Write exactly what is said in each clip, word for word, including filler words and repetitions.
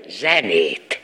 zenét.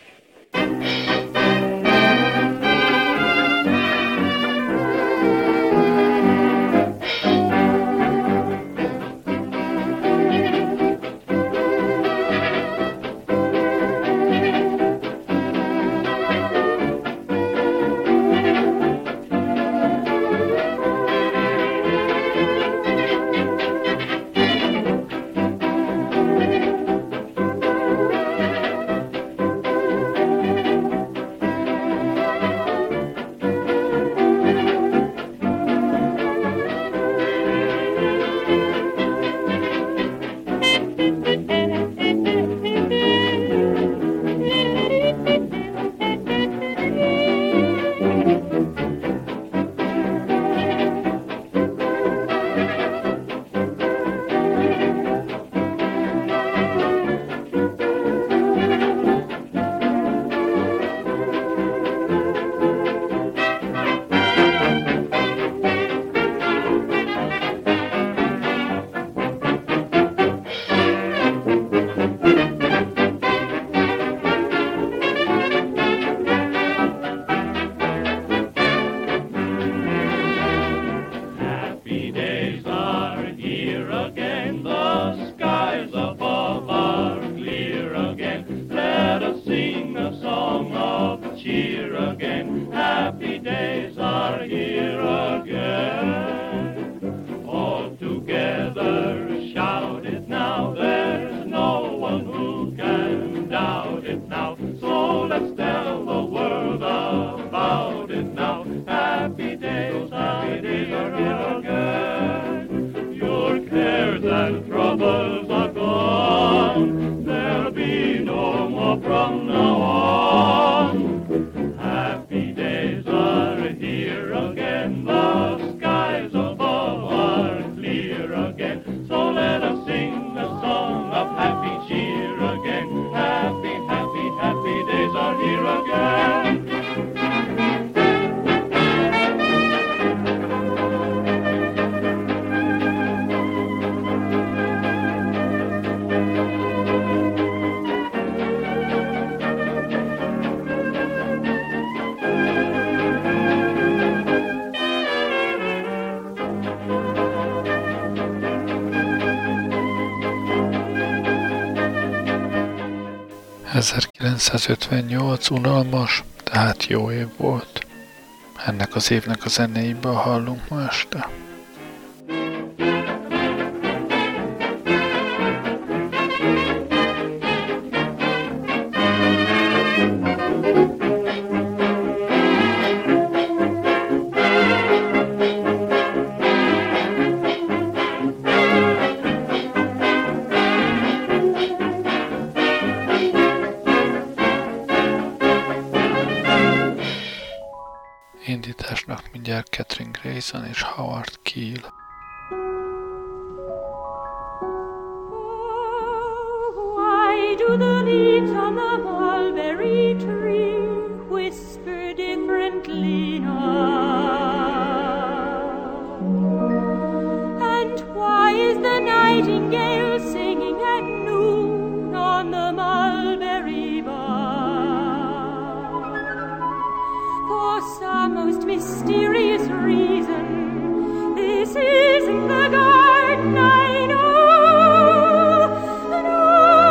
ezerkilencszázötvennyolc unalmas, tehát jó év volt. Ennek az évnek a zenéiből hallunk ma este. Indításnak mindjárt Catherine Grayson és Howard Keel. Why do the leaves on the mulberry tree whisper differently now? And why is the nightingale singing at noon on the mulberry bough? For some most mysterious reason, this isn't the garden I know. No,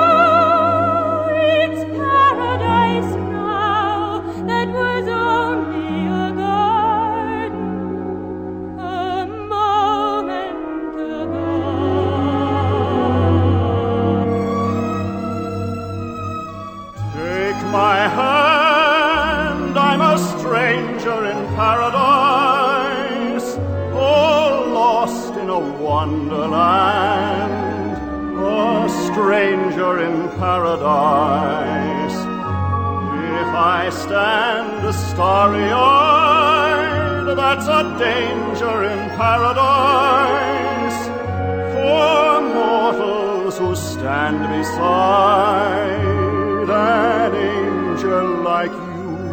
it's paradise now that was only a garden a moment ago. Take my hand, I'm a stranger in paradise, all lost in a wonderland, a stranger in paradise. If I stand starry-eyed, that's a danger in paradise, for mortals who stand beside an angel like you.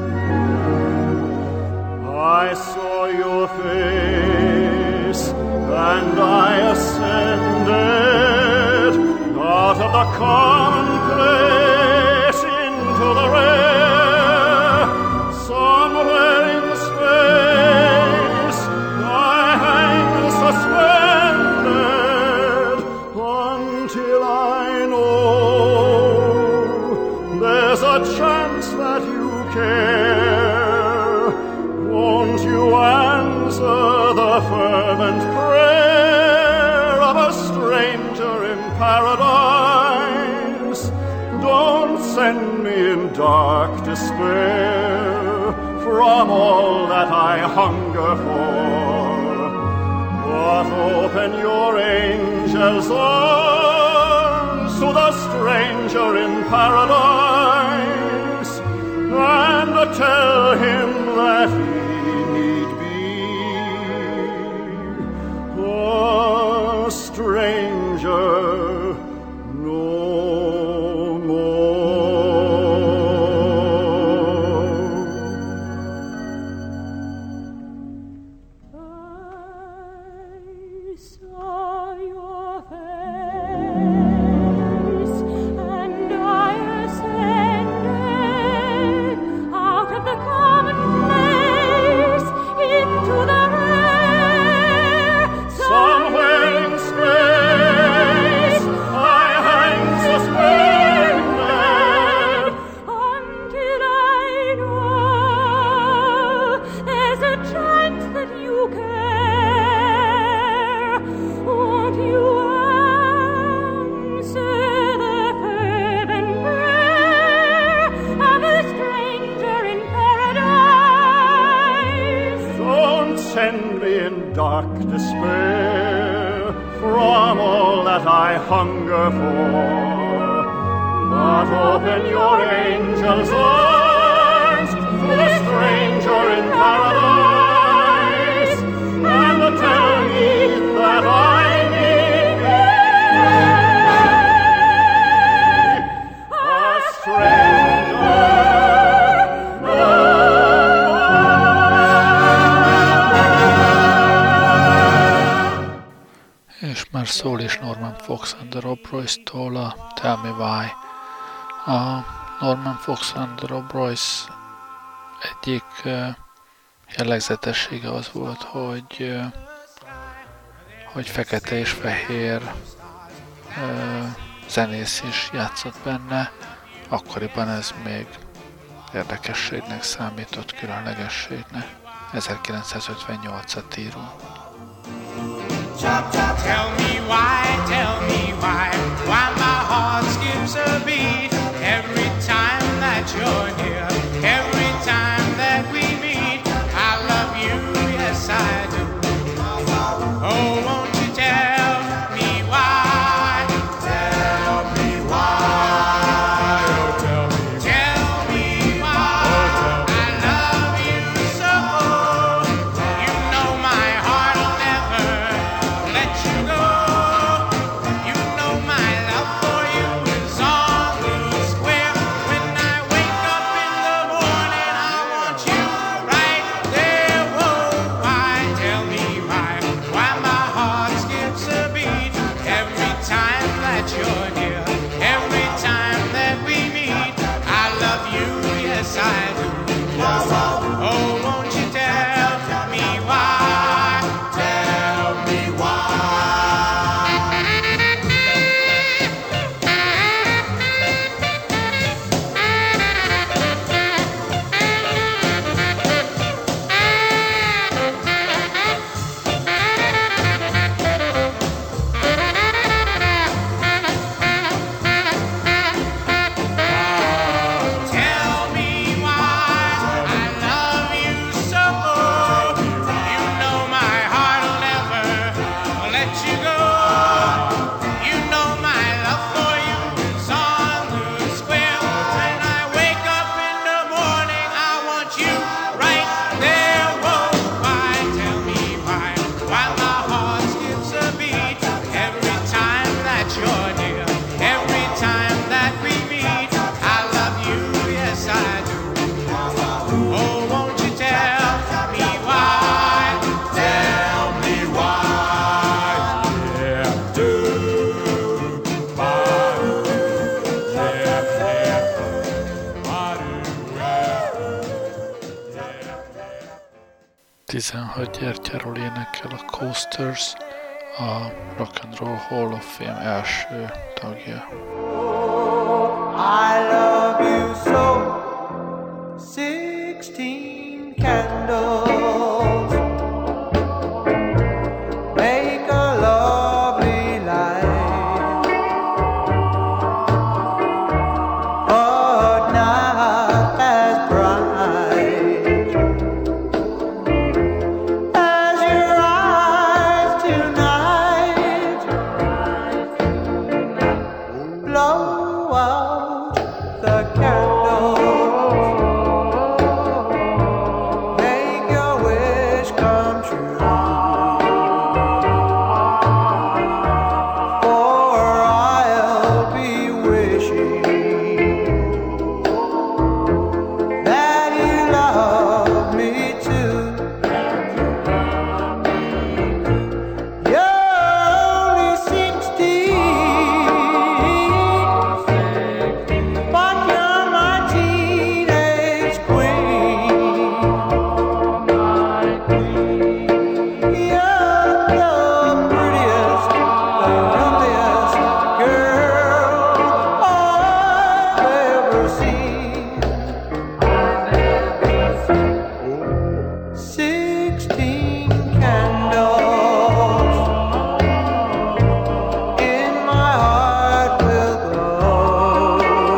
I saw your face and I ascended out of the commonplace a chance that you care, won't you answer the fervent prayer of a stranger in paradise? Don't send me in dark despair from all that I hunger for, but open your angels' arms to the stranger in paradise, and tell him that he need be a stranger no more. I saw your face, and I ascended out of the commonplace into the rare. Somewhere in space I hang suspended, Until I know there's a chance that you care, won't you answer the fervent prayer of a stranger in paradise? don't send me in dark despair from all that I hunger for, but open your angels' arms to the stranger in paradise, and tell me that I need be a stranger no És már szól is Norman Fox and the Rob Royce-tól a Tell Me Why. A Norman Fox and the Rob Royce egyik uh, jellegzetessége az volt, hogy, uh, hogy fekete és fehér uh, zenész is játszott benne. Akkoriban ez még érdekességnek számított, különlegességnek. ezerkilencszázötvennyolcat írunk. Tell me why, tell me why, why my heart skips a beat every time that you're near, every time that we meet. I love you, yes I do. Oh, won't you tell me why? Tell me why, oh tell me, tell me why, I love you so. You know my heart will never let you go. You know my love for you is on the square. When I wake up in the morning, I want you right there. Whoa, why? Tell me why? Why my heart skips a beat every time that you're near, every time that we meet. I love you, yes I do. Oh, won't you tell me why? Tell me why. Tell me why I love you so. You know my heart will never let you go. You know my love for you is on the square. When I wake up in the morning, I want you right there. Whoa, why? Tell me why? Why my heart skips a beat every time that you're near, every time that we meet. I love you, yes I do. Oh, won't you tell me why? Tell me why. Yeah, do. Why? Yeah, yeah. Why do? tizenhat gyertyáról énekel a Coasters, a Rock and Roll Hall of Fame első tagja. I love you so. the candles make your wish come true. For I'll be wishing that you love me too. You're only sixteen, but you're my teenage queen. You're the prettiest, the loveliest girl I've ever seen. Sixteen candles in my heart will glow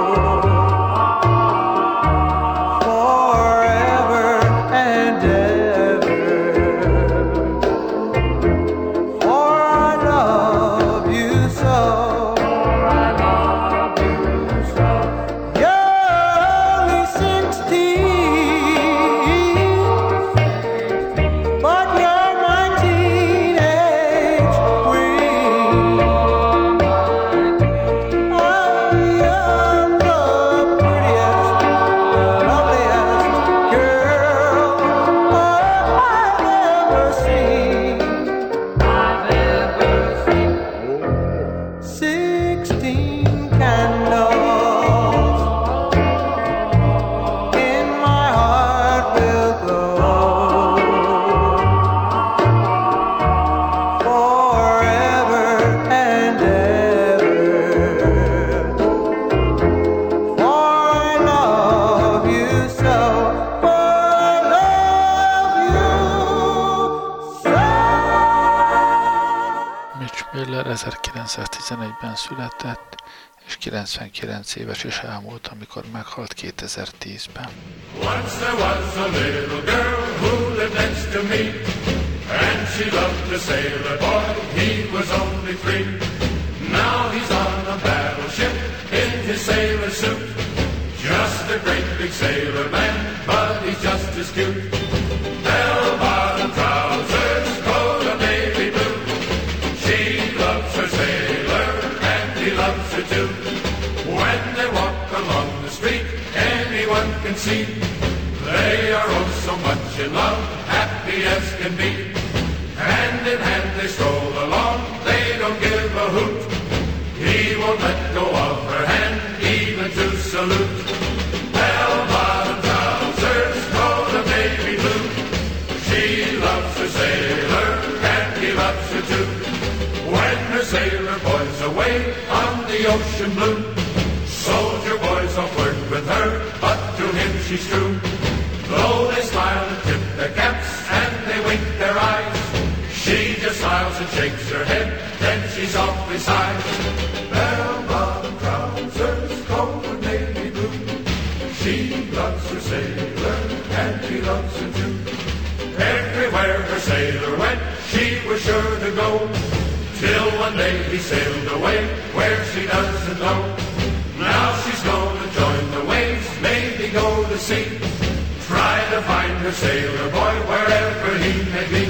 forever and ever. For I love you so. You're only sixteen, but you're my teenage queen. I'm the prettiest, the loveliest girl I've ever seen. Sixteen candles in my heart will glow forever and ever. For I love you so. For I love you so. Mitch Miller ezerkilencszáztizenegyben született, és kilencvenkilenc éves is elmúlt, amikor meghalt kétezer-tízben. Once there was a little girl who lived next to me, and she loved a sailor boy, he was only three. Now he's on a battleship in his sailor suit, just a great big sailor man, but he's just as cute. Bell-bottom trousers, coat of navy blue, she loves her sailor, and he loves her too. When they walk along the street, anyone can see they are oh so much in love, happy as can be. Hand in hand they stroll along, they don't give a hoot. He won't let go of her hand, even to salute. Bell-bottom trousers, coat of navy blue, she loves her sailor, and he loves her too. When her sailor boy's away on the ocean blue, soldier boys all flirt with her, but to him she's true. Though they smile and tip their caps and they wink their eyes, she just smiles and shakes her head, then she softly sighs. Bell-bottom trousers, coat of navy blue, she loves her sailor, and he loves her too. Everywhere her sailor went, she was sure to go, till one day he sailed away where she doesn't know. Now she's gonna join the waves, maybe go to sea, try to find her sailor boy wherever he may be.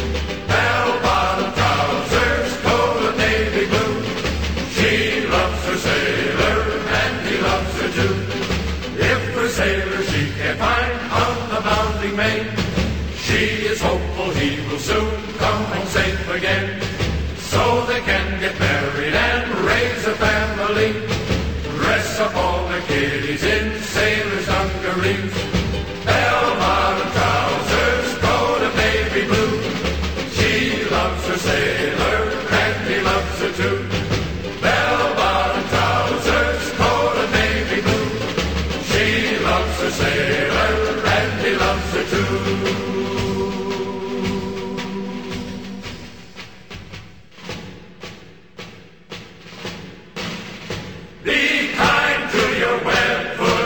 Bell-bottom trousers, coat of navy blue, she loves her sailor, and he loves her too. If her sailor she can't find on the bounding main, she is hopeful he will soon come home safe again, so they can get married and raise a family, dress up all their kiddies in sailors' dungarees. Bell-bottom trousers, coat of navy blue, she loves her sailor, and he loves her too. Bell-bottom trousers, coat of navy blue, she loves her sailor, and he loves her too. Be kind to your wet-foot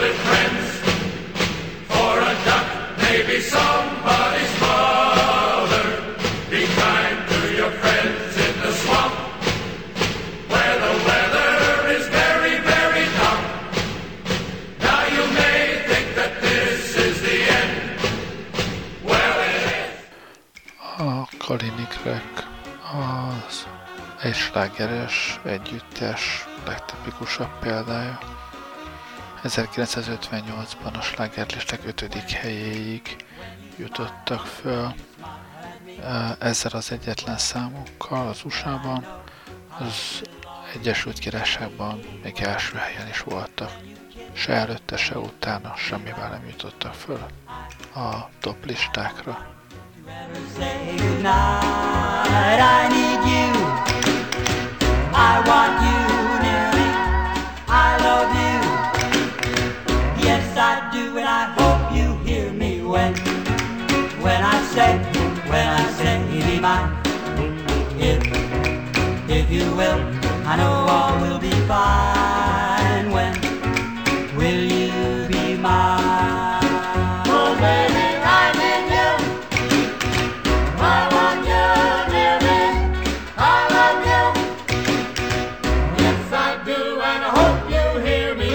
egy slágeres együttes legtipikusabb példája. ezerkilencszázötvennyolcban a slágerlisták ötödik helyéig jutottak föl. Ezzel az egyetlen számukkal az u es á-ban, az Egyesült Királyságban még első helyen is voltak. Se előtte, se utána semmivel nem jutottak föl a top listákra. When I say, when I say, be mine, if, if you will, I know all will be fine. When will you be mine? Oh, baby, I need you. I want you near me. I love you. Yes, I do, and I hope you hear me.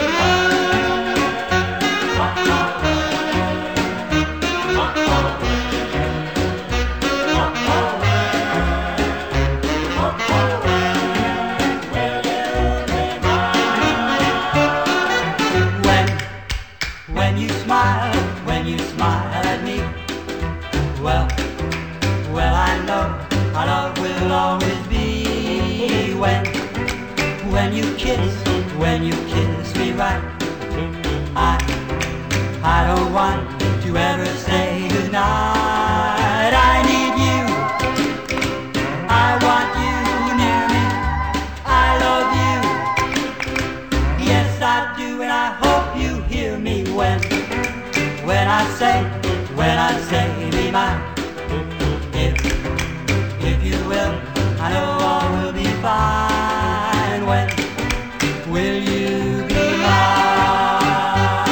Our love will always be when, when you kiss, when you kiss me right. I, I don't want to ever say goodnight. I need you. I want you near me. I love you. Yes, I do, and I hope you hear me when, when I say, when I say, be mine. I know all will be fine. When will you be mine?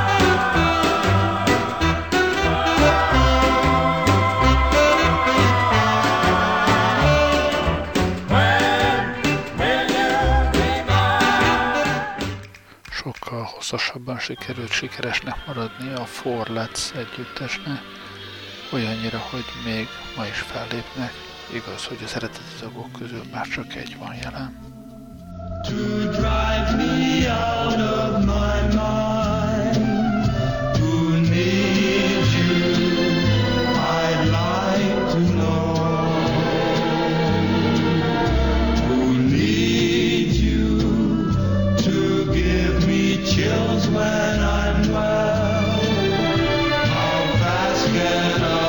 When will you be mine? Sokkal hosszasabban sikerült sikeresnek maradni a Four Lads együttesnek, olyannyira, hogy még ma is fellépnek. Igaz, hogy az eredeti tagok közül már csak egy van jelen. To drive me out of my mind, who needs you, I'd like to know. Who needs you, to give me chills when I'm well. How fast can I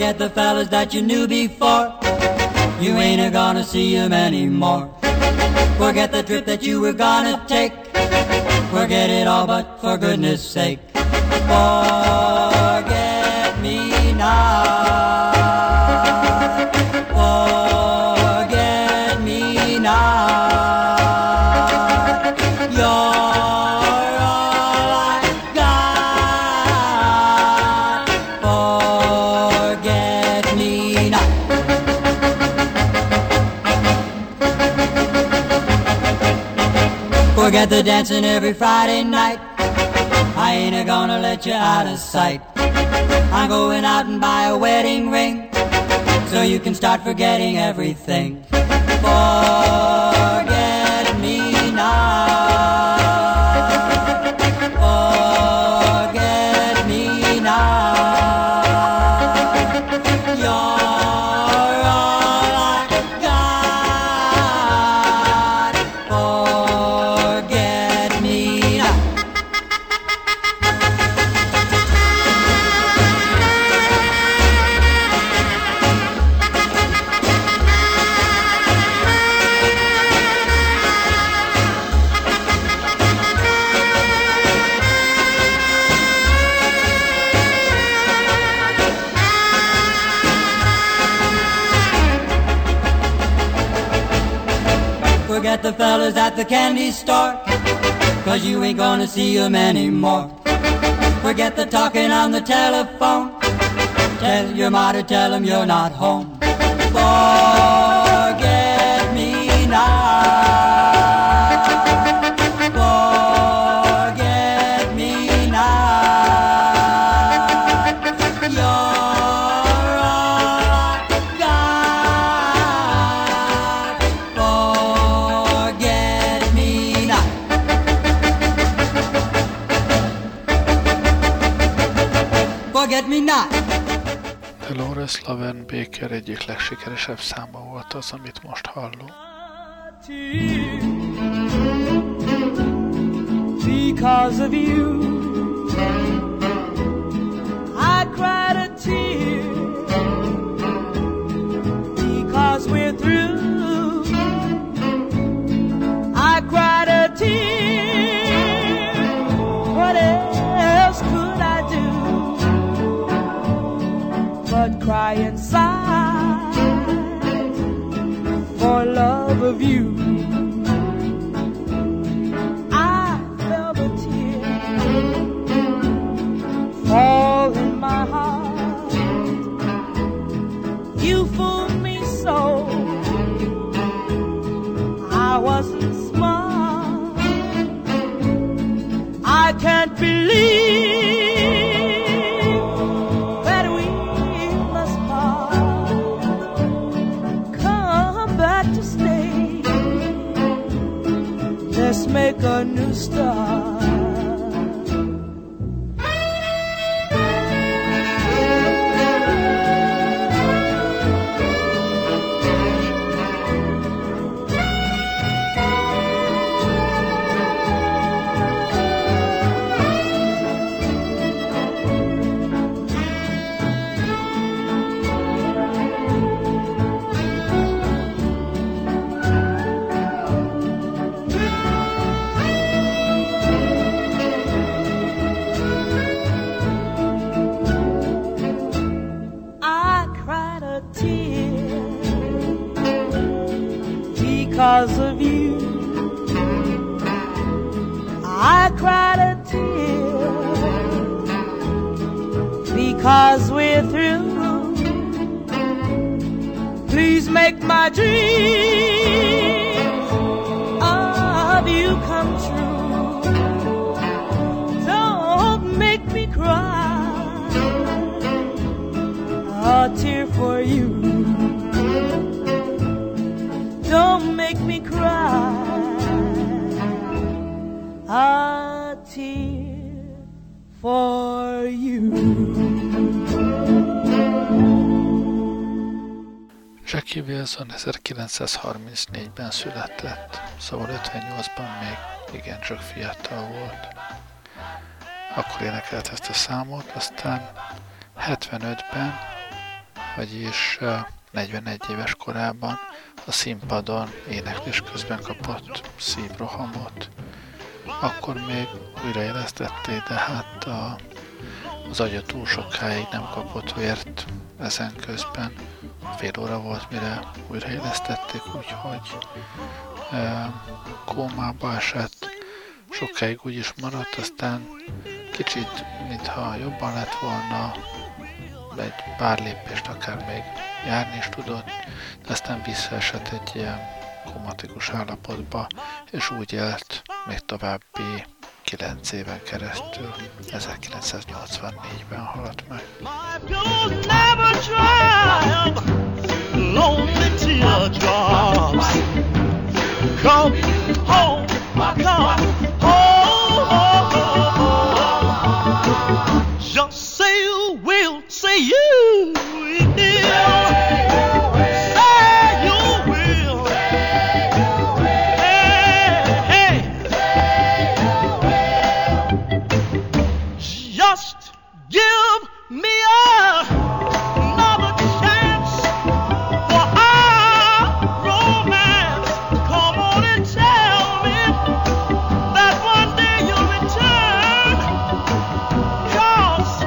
Forget the fellas that you knew before. You ain't gonna see them anymore. Forget the trip that you were gonna take. Forget it all, but for goodness sake, forget me not. Forget me not. You're all I got. Forget me not. Forget the dancing every Friday night. I ain't gonna let you out of sight. I'm going out and buy a wedding ring, so you can start forgetting everything. Forget me not. Forget me not. You're all I got. Forget me not. Forget the fellas at the candy store, 'cause you ain't gonna see them anymore. Forget the talking on the telephone. Tell your mother, tell them you're not home. Forget me not. Forget me not. You're all I got. Forget me not. Forget me not. Dolores Laverne Baker egyik legsikeresebb száma volt az, amit most hallunk. Because of you, I cried a tear. Because we're through, I cried a tear. What else could I do but cry inside for love of you? Fall in my heart. You fooled me so. I wasn't smart. I can't believe that we must part. Come back to stay. Let's make a new start. Because of you, I cried a tear. Because we're through, please make my dream of you come true. Don't make me cry a tear for you. Don't make me cry a tear for you. Jackie Wilson ezerkilencszázharmincnégyben született, szóval ötvennyolcban még igencsak fiatal volt. Akkor énekelt ezt a számot, aztán hetvenötben vagyis negyvenegy éves korában a színpadon éneklés közben kapott szívrohamot. Akkor még újraélesztették, de hát a, az agya túl sokáig nem kapott vért ezen közben. Fél óra volt, mire újraélesztették, úgyhogy e, kómába esett. Sokáig úgy is maradt, aztán kicsit, mintha jobban lett volna, egy pár lépést akár még járni is tudott, de aztán visszaesett egy ilyen komatikus állapotba, és úgy élt még további kilenc éven keresztül. ezerkilencszáznyolcvannégyben halt meg. Come home, come home. Just say you will, say you will. Say you will. Hey, hey. Just give me a another chance for our romance. Come on and tell me that one day you'll return. 'Cause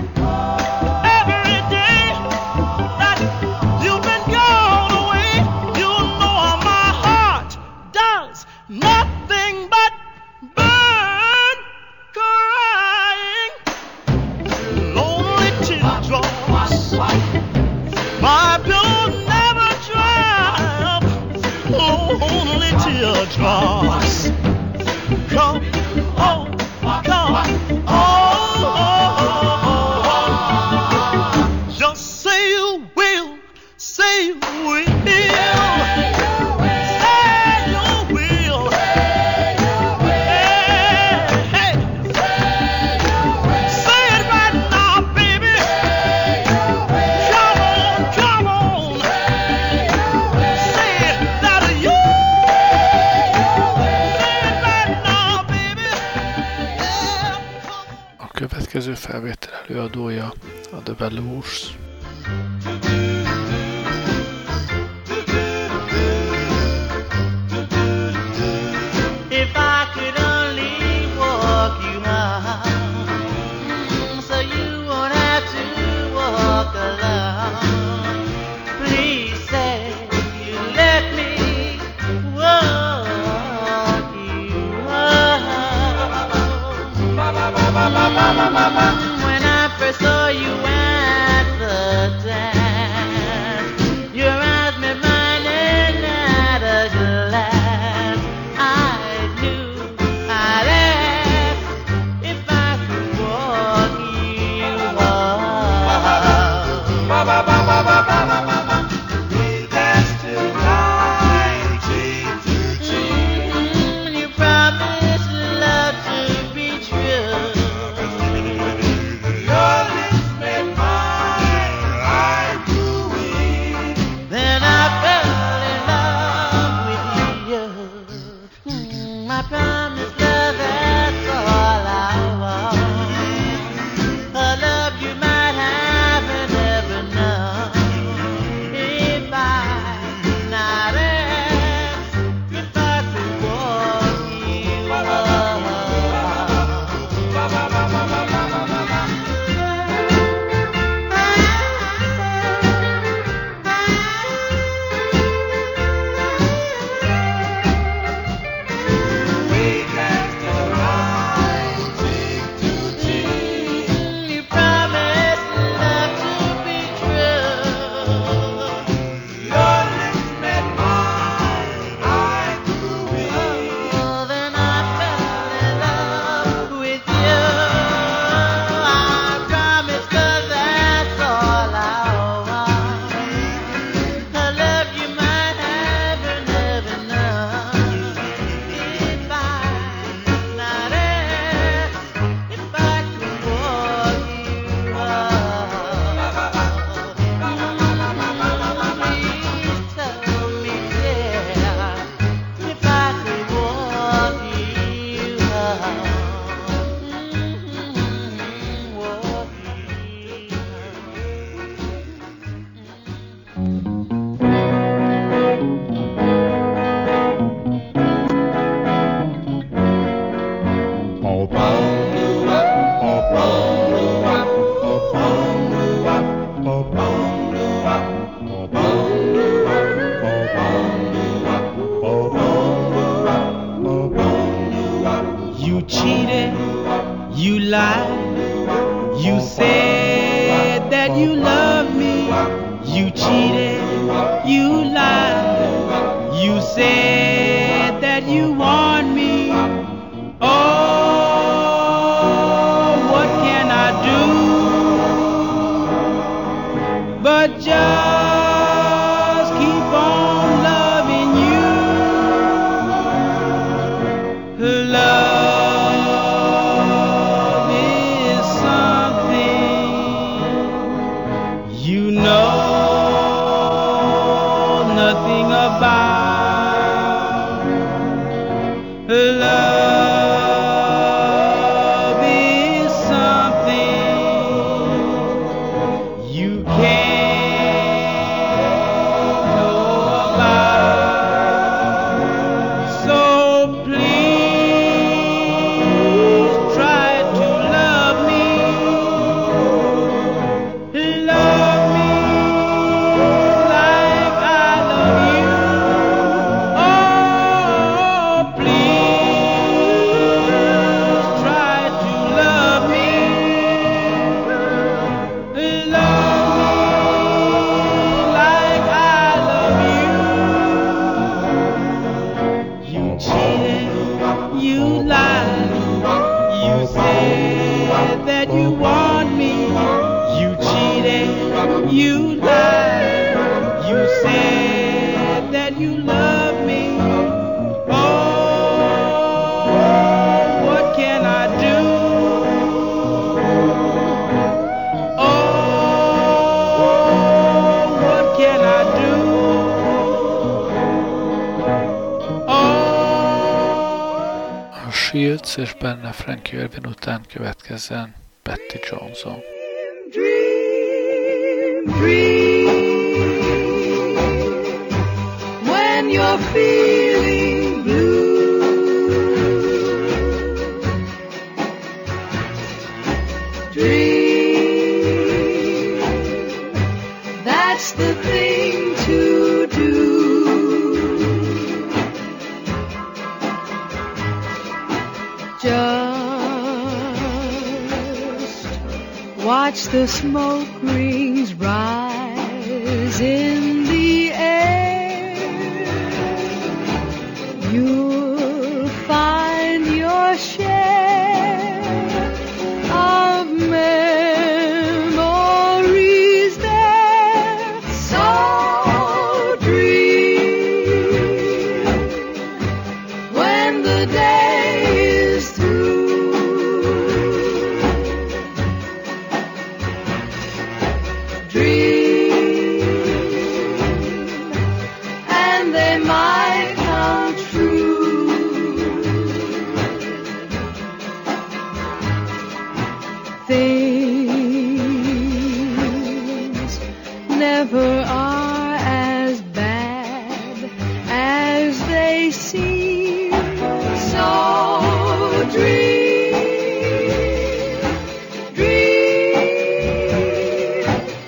every day that you've been gone away, you know my heart does nothing but burn, crying lonely teardrops. My pillow never dry up, lonely teardrops. Come home, come home. Just say you will, say you will. Say you will. Hey, hey. Say it right now, baby. Come on, come on. Say it that you. Say it right now, baby. Yeah, come on. A következő felvétel előadója a The Velours. If I could only walk you home, so you won't have to walk alone. Please say you let me walk you home. When I first saw you at the dance, that you love me. You cheated, you lied. You said that you want me. Oh, what can I do but just keep on loving you? Love is something you know nothing about. Love is something you can't know about. So please try to love me. Love me like I love you. Oh, please try to love me. Love me like I love you. You cheated, you lied, you said that you want me. You cheated, you lied, you said that you love me. Oh, what can I do? Oh, what can I do? Oh. A Shields és benne Frankie Irvine után következzen Patty Johnson. Dream, dream, when you're feeling blue. Dream, that's the thing to do. Just watch the smoke rings rise in the air. You'll find your share of memories there. So dream when the day is through. Dream, and they might come true. Things never are as bad as they seem. So dream, dream,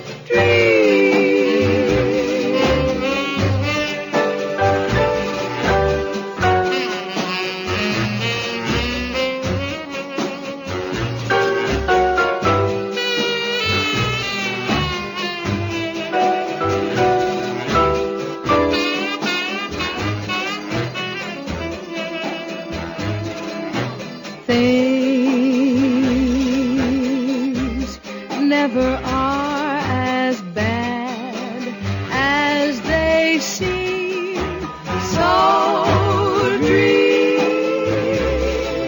things never are as bad as they seem. So dream,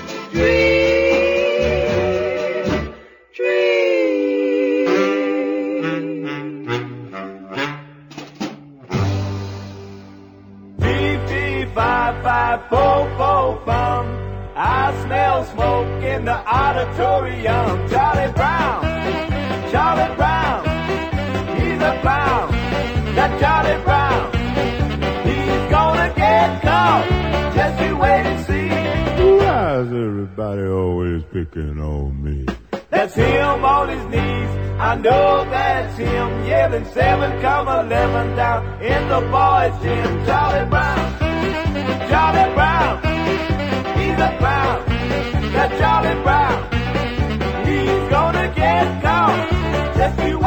dream, dream. Fee, fee, fi, fi, fo, fo, fum. I smell smoke in the auditorium. Charlie Brown, Charlie Brown, he's a clown. That Charlie Brown, he's gonna get caught. Just you wait and see. Why is everybody always picking on me? That's him on his knees. I know that's him yelling seven come eleven down in the boys' gym. Charlie Brown, Charlie Brown, he's a clown. That Charlie Brown, he's gonna get caught. Just you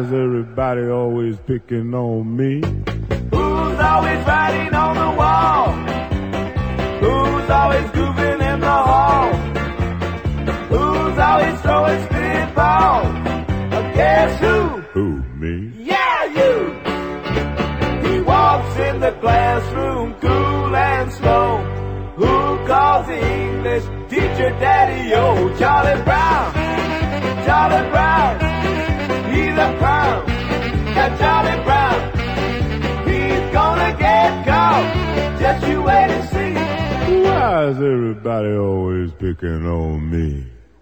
is everybody always picking on me? Who's always writing on the wall? Who's always grooving in the hall? Who's always throwing spitballs? Uh, guess who? Who, me? Yeah, you! He walks in the classroom cool and slow. Who calls the English teacher Daddy-O? Charlie Brown! Charlie Brown! He's a clown! Now Charlie Brown! He's gonna get caught! Just you wait and see! Why is everybody always picking on me?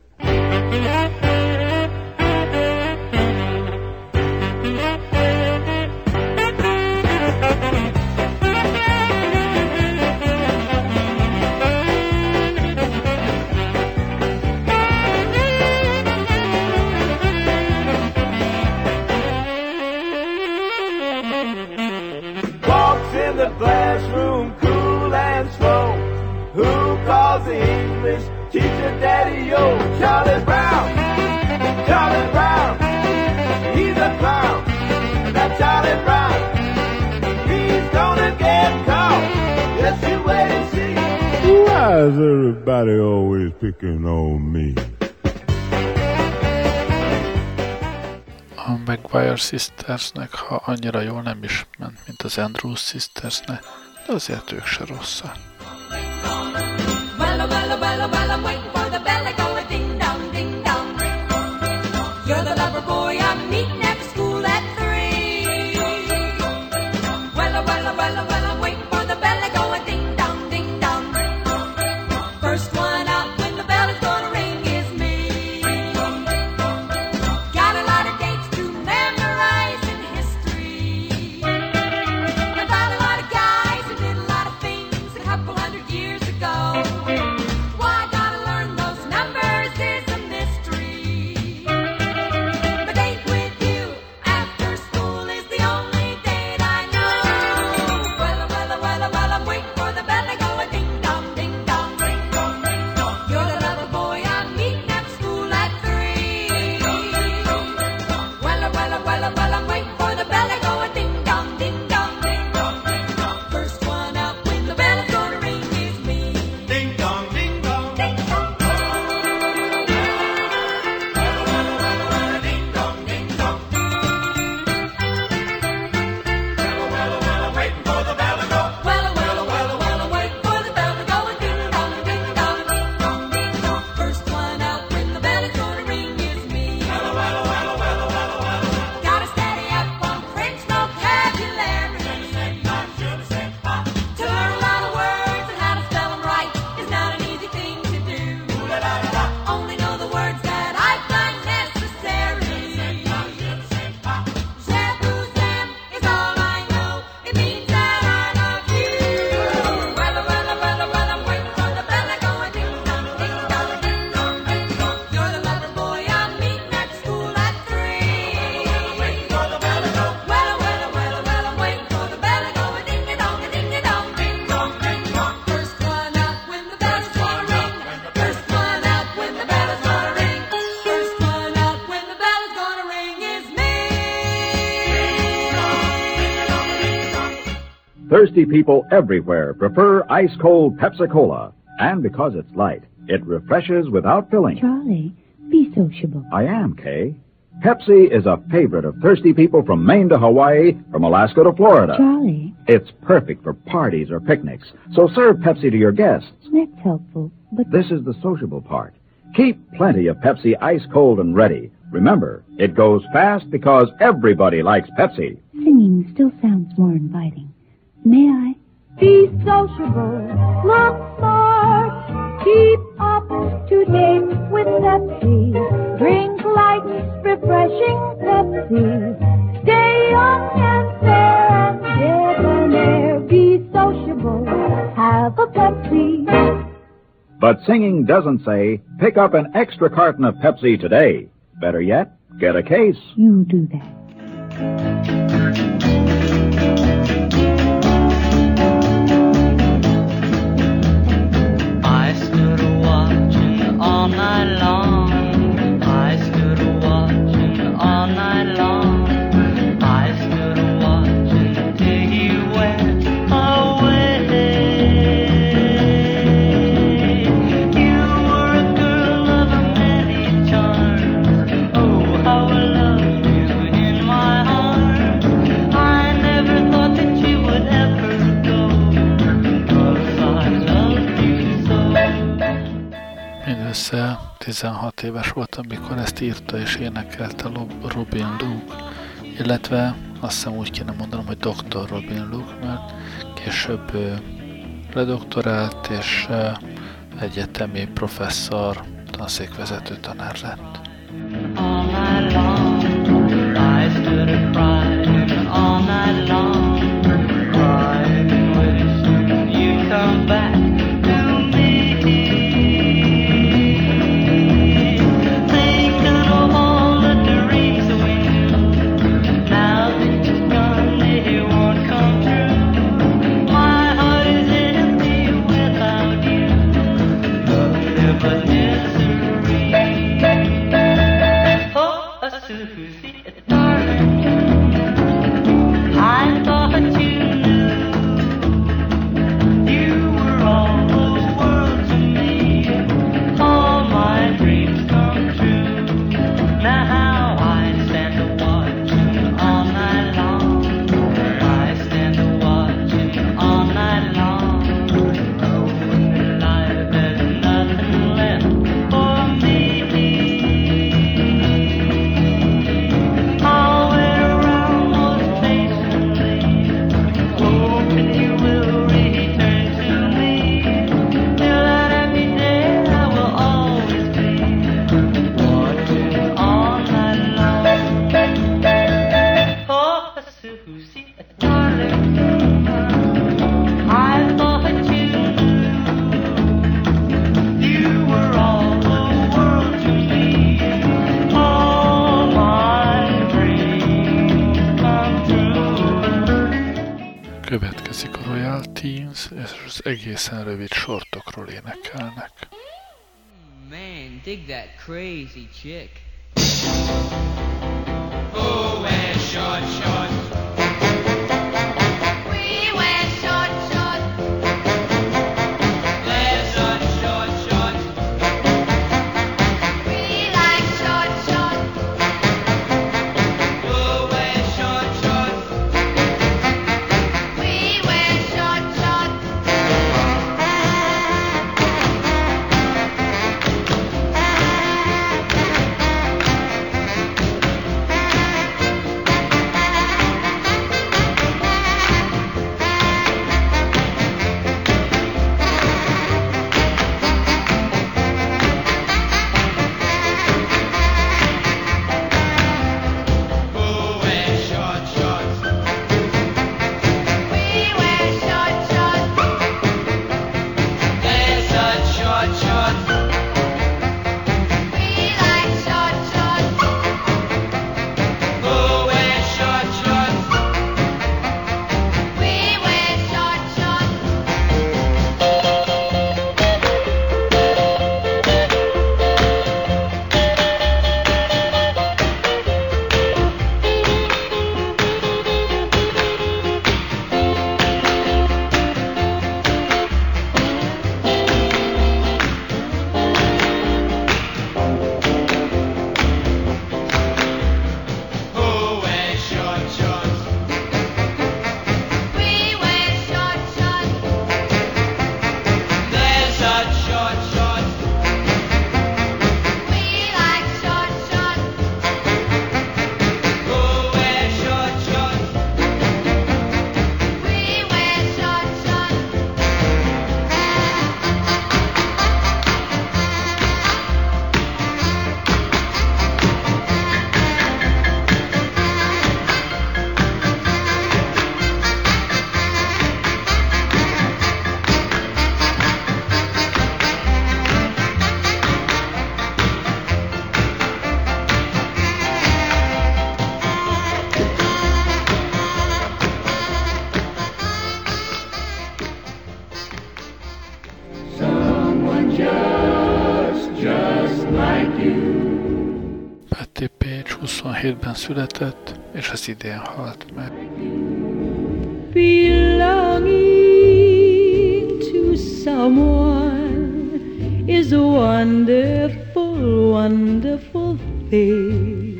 Walks in the classroom cool and slow. Who calls the English teacher Daddy-O? Charlie Brown! Charlie Brown! He's a clown! Now Charlie Brown! He's gonna get caught! Just you wait and see! Why is everybody always picking on me? A Maguire Sistersnek, ha annyira jól nem is ment, mint az Andrews Sistersnek, de azért ők se rosszak. Well, well, well, well, I'm waiting for the bell to go a ding dong, ding dong. You're the lover boy I'm meeting after school at three. Well, well, well, well, I'm waiting for the bell to go a ding dong, ding dong. First one out when the bell is gonna ring is me. Got a lot of dates to memorize in history. I found a lot of guys who did a lot of things a couple hundred years ago. Why I gotta learn those numbers is a mystery. My date with you after school is the only date I know. Well, well, well, well, I'm waiting for the bell to go a ding dong, ding dong, ring dong, ring dong. You're the lover boy I'm meeting after school at three. Well, well, well, well, I'm waiting for the bell to go a ding dong, ding dong, ding dong, ding dong. First one out when the bell is gonna ring is me. Ding dong, ding dong, ding dong. Ding dong, ding dong. Waiting for the bell to go. Well, well, well, well, I'm waiting for the bell to go a ding dong, ding dong, ding dong, ding dong. First one out when the bell is gonna ring is me. Gotta steady up on French vocabulary. To learn a lot of words and how to spell them right is not an easy thing to do. Only know the words that I find necessary. Shaboozam is all I know. It means that I love you. Well, well, well, well, I'm waiting for the bell to go a ding dong, ding dong, ding dong, ding dong. You're the lover boy I'm meeting at school at three. Waiting for the bell to go. Well, well, well, well, I'm waiting for the bell to go a ding a dong, a ding a dong, ding dong, ding dong. First one out when the bell is gonna ring. First one out when the bell is gonna ring. First one out when the bell is gonna ring is me. Thirsty people everywhere prefer ice-cold Pepsi-Cola. And because it's light, it refreshes without filling. Charlie, be sociable. I am, Kay. Pepsi is a favorite of thirsty people from Maine to Hawaii, from Alaska to Florida. Charlie, It's perfect for parties or picnics, so serve Pepsi to your guests. that's helpful, but This is the sociable part. Keep plenty of Pepsi ice-cold and ready. Remember, it goes fast because everybody likes Pepsi. singing still sounds more inviting. May I? Be sociable, look smart, keep up to date with Pepsi. Drink light, refreshing Pepsi. Stay young and fair and debonair. Be sociable, have a Pepsi. But singing doesn't say, pick up an extra carton of Pepsi today. Better yet, get a case. You do that. I stood watching all night long. I stood watching all night long. tizenhat éves volt, amikor ezt írta és énekelte Robin Luke, illetve azt hiszem úgy kéne mondanom, hogy doktor Robin Luke, mert később ledoktorált és egyetemi professzor, tanszékvezető tanár lett. All night long, I stood and cried. All night long, cried and wishing you'd come back to me. Thinking of all the dreams we knew. Now that you're gone, they won't come true. My heart is empty without you. Nothing but misery. Susie, darling, I thought you knew you were all the world to me. All my dreams come true. Now I stand a watching all night long. I stand a watching all night long. Knowing life has nothing left for me. Következik a Royal Teens, és az egészen rövid sortokról énekelnek. Man, dig that crazy chick. Oh, wear short shorts. We wear short shorts. Wear short, short shorts. We like short shorts. Oh, wear short shorts. We wear short shorts. Oh, wear short shorts. We wear short shorts. Wear such short shorts. We like short shorts. Oh, wear short shorts. We wear short shorts. Oh, wear short shorts. We wear short shorts. Wear such short shorts. We like short shorts. Oh, wear short shorts. We wear short shorts. Someone just, just like you. Patti Page huszonhétben született, és az idén halt meg. Belonging to someone is a wonderful, wonderful thing.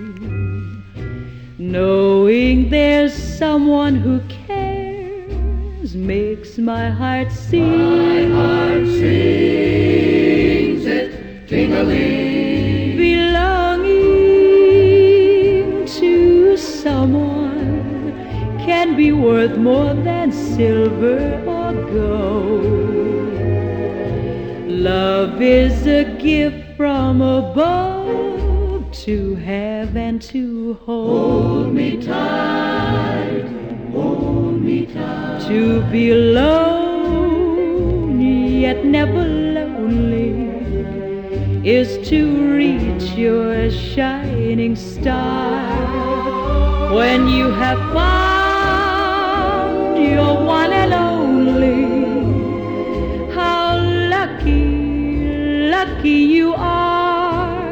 Knowing there's someone who cares makes my heart sing. My heart sings it, ting-a-ling. worth more than silver or gold. Love is a gift from above to have and to hold. Hold me tight, hold me tight. To be alone yet never lonely is to reach your shining star. When you have found your one and only, how lucky, lucky you are,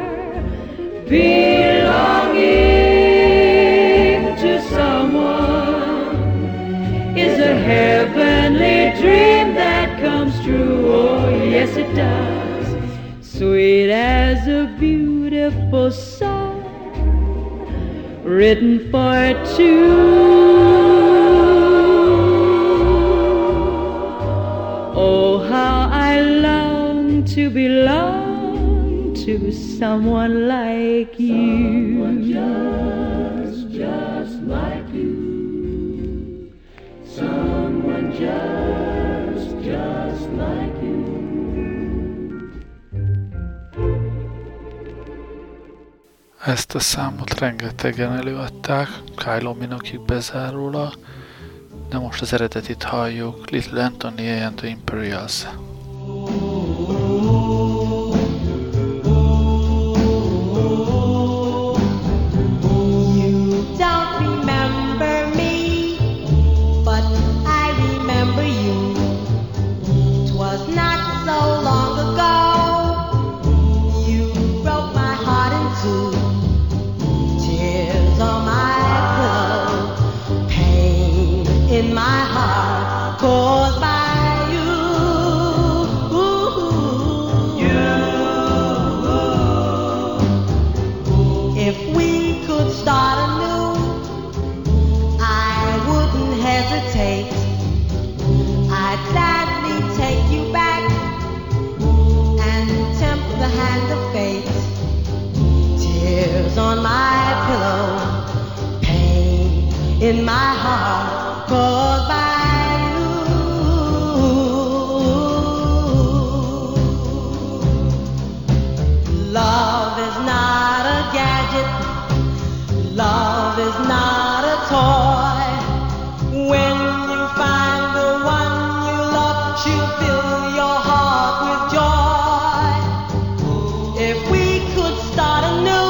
belonging to someone is a heavenly dream that comes true. Oh, yes, it does. Sweet as a beautiful song written for two. Oh, how I long to belong to someone like you. Someone just, just like you. Someone just, just like you. Ezt a számot rengetegen előadták, Kylie Minogue-ig bezárólag, de most az eredetit halljuk, Little Anthony and the Imperials. In my heart, caused by you. Love is not a gadget. Love is not a toy. When you find the one you love, she'll fill your heart with joy. If we could start anew,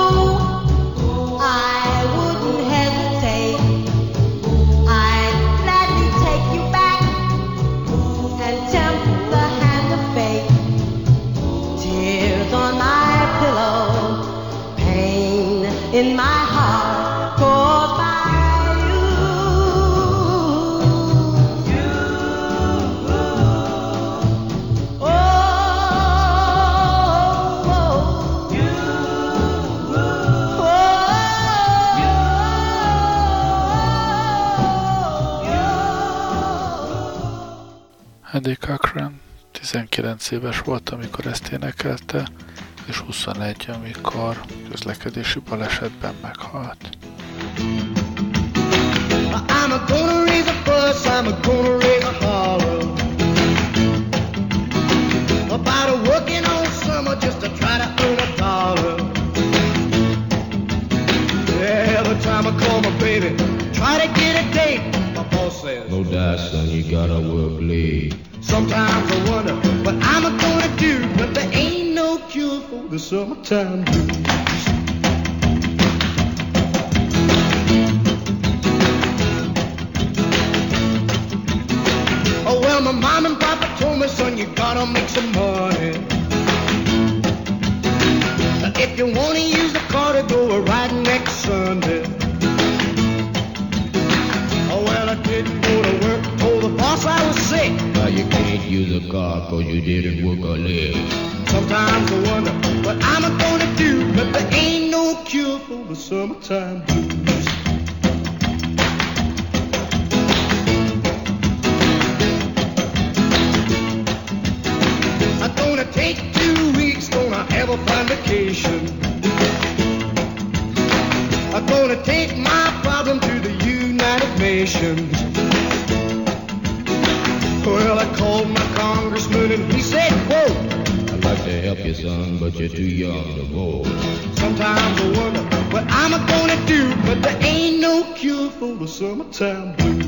in my heart, caused by you. You, oh, oh, you, oh, you. Eddie Cochran tizenkilenc éves volt, amikor ezt énekelte, és huszonegy, amikor közlekedési balesetben meghalt. I'm a gonna raise a fuss, I'm a gonna raise a holler about a working all summer just to try to earn a dollar. Every time I call my baby, try to get a date, my boss says, no doubt, son, you gotta work late. Sometimes I wonder what I'm gonna do, but there ain't no cure for the summertime blues. Oh well, my mom and papa told me, son, you gotta make some money. If you wanna use the car to go riding next Sunday. Oh well, I didn't go to work, told the boss I was sick. Now you can't use a car cause you didn't work a leg. Sometimes I wonder what I'm gonna do, but there ain't no cure for the summertime blues. I'm gonna take two weeks, gonna have a fine vacation. I'm gonna take my problem to the United Nations. help you, son, but you're too young to go. Sometimes I wonder what I'm gonna do, but there ain't no cure for the summertime blues.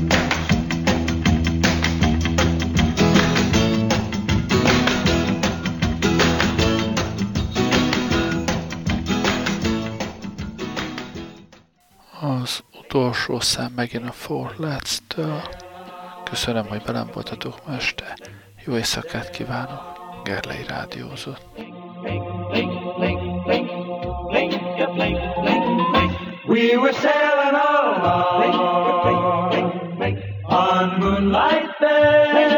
Az utolsó szám megint a Four Lads-től. Köszönöm, hogy velem voltatok ma este. Jó éjszakát kívánok. Gerlei rádiózott. We were sailing along on Moonlight Bay.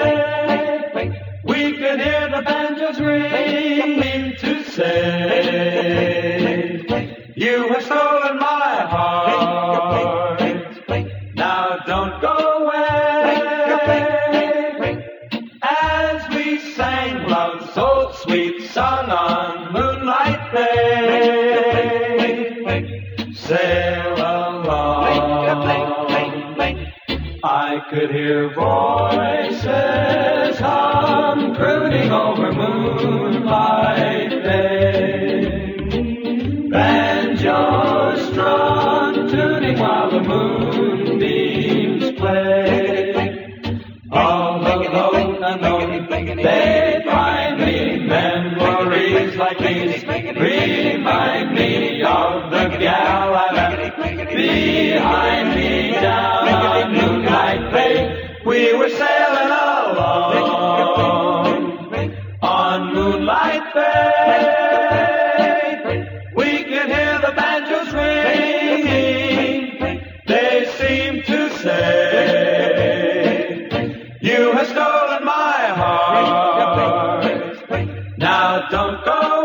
We could hear the banjos ring to say, you have stolen my heart. Now don't go away. As we sang love's so sweet song on Moonlight Bay, sail along. I could hear voices hum, crooning over Moonlight Bay. Banjos strung, tuning while the moonbeams play. All alone, alone, they find me. Memories like these remind me of the gal I left behind me down on Moonlight Bay. We were sailing along on Moonlight Bay. We could hear the banjos ringing. They seem to say, you have stolen my heart. Now don't go